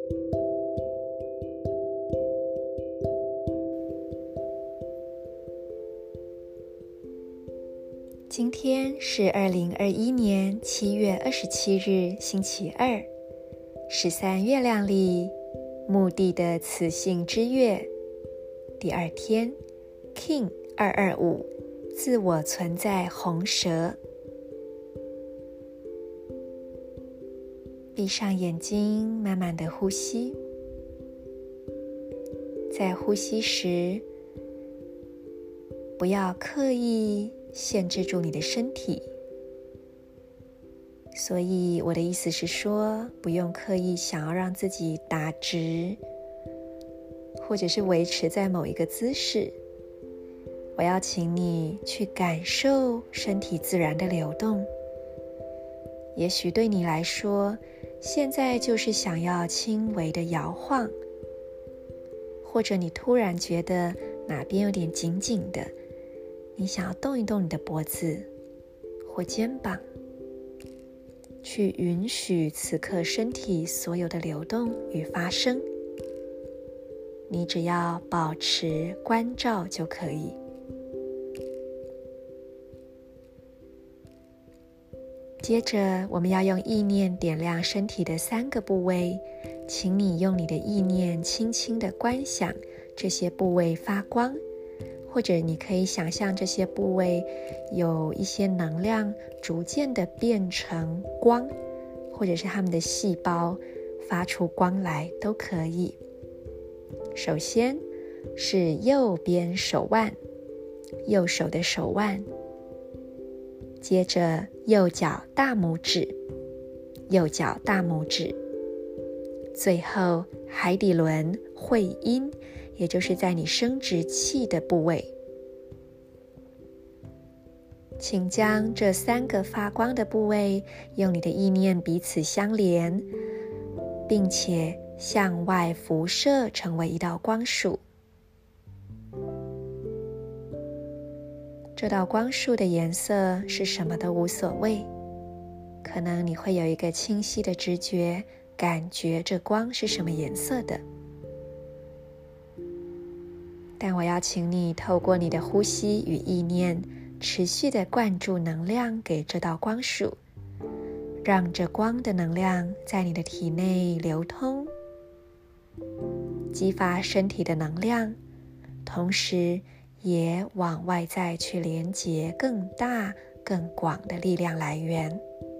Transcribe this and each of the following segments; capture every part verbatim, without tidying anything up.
今天是二零二一年七月二十七日，星期二，十三月亮历墓地的雌性之月，第二天 King 二二五，自我存在红蛇。闭上眼睛，慢慢的呼吸。在呼吸时，不要刻意限制住你的身体，所以我的意思是说，不用刻意想要让自己打直，或者是维持在某一个姿势。我要请你去感受身体自然的流动。也许对你来说，现在就是想要轻微的摇晃，或者你突然觉得哪边有点紧紧的，你想要动一动你的脖子或肩膀，去允许此刻身体所有的流动与发生。你只要保持关照就可以。接着，我们要用意念点亮身体的三个部位，请你用你的意念轻轻地观想这些部位发光，或者你可以想象这些部位有一些能量逐渐的变成光，或者是它们的细胞发出光来都可以。首先是右边手腕，右手的手腕，接着右脚大拇指，右脚大拇指，最后海底轮会阴，也就是在你生殖器的部位。请将这三个发光的部位用你的意念彼此相连，并且向外辐射成为一道光束。这道光束的颜色是什么都无所谓，可能你会有一个清晰的直觉，感觉这光是什么颜色的。但我要请你透过你的呼吸与意念，持续地灌注能量给这道光束，让这光的能量在你的体内流通，激发身体的能量，同时也往外在去连接更大更广的力量来源。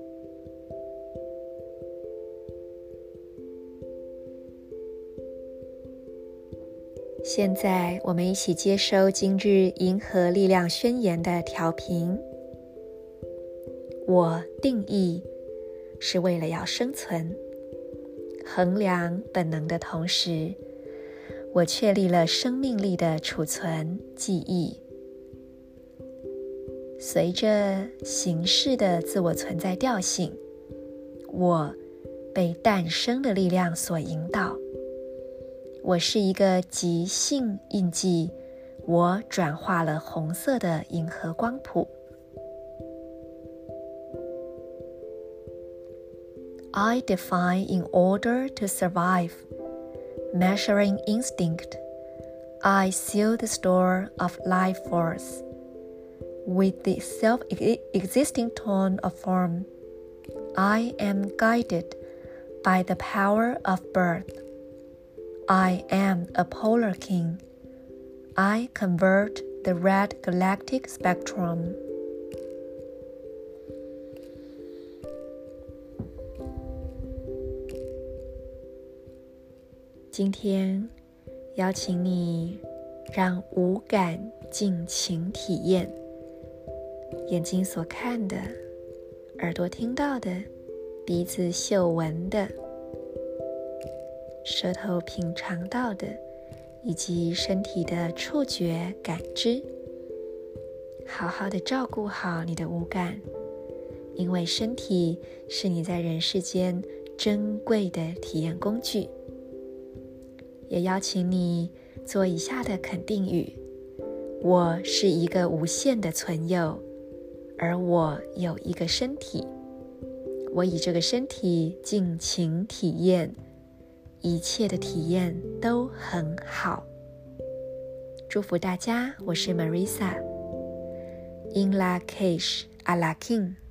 现在我们一起接收今日银河力量宣言的调频。我定义是为了要生存，衡量本能的同时，我确立了生命力的储存记忆。随着形式的自我存在调性，我被诞生的力量所引导。我是一个极性印记，我转化了红色的银河光谱。I define in order to survive, measuring instinct. I seal the store of life force with the self-existing tone of form. I am guided by the power of birth.I am a polar king. I convert the red galactic spectrum. 今天邀请你让五感尽情体验，眼睛所看的，耳朵听到的，鼻子嗅闻的，舌头品尝到的，以及身体的触觉感知，好好的照顾好你的五感，因为身体是你在人世间珍贵的体验工具。也邀请你做以下的肯定语：我是一个无限的存有，而我有一个身体，我以这个身体尽情体验， 一切的体验都很好。祝福大家，我是 Marisa。In la cage à la king。